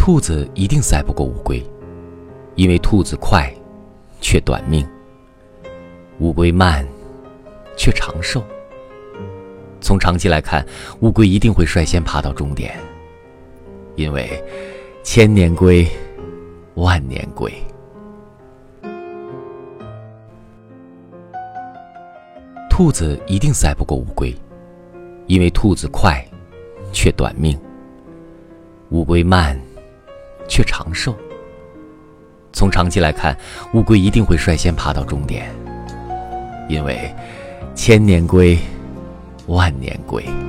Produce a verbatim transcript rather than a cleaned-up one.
兔子一定赛不过乌龟，因为兔子快，却短命；乌龟慢，却长寿。从长期来看，乌龟一定会率先爬到终点，因为千年龟，万年龟。兔子一定赛不过乌龟，因为兔子快，却短命；乌龟慢，却长寿。从长期来看，乌龟一定会率先爬到终点，因为千年龟，万年龟。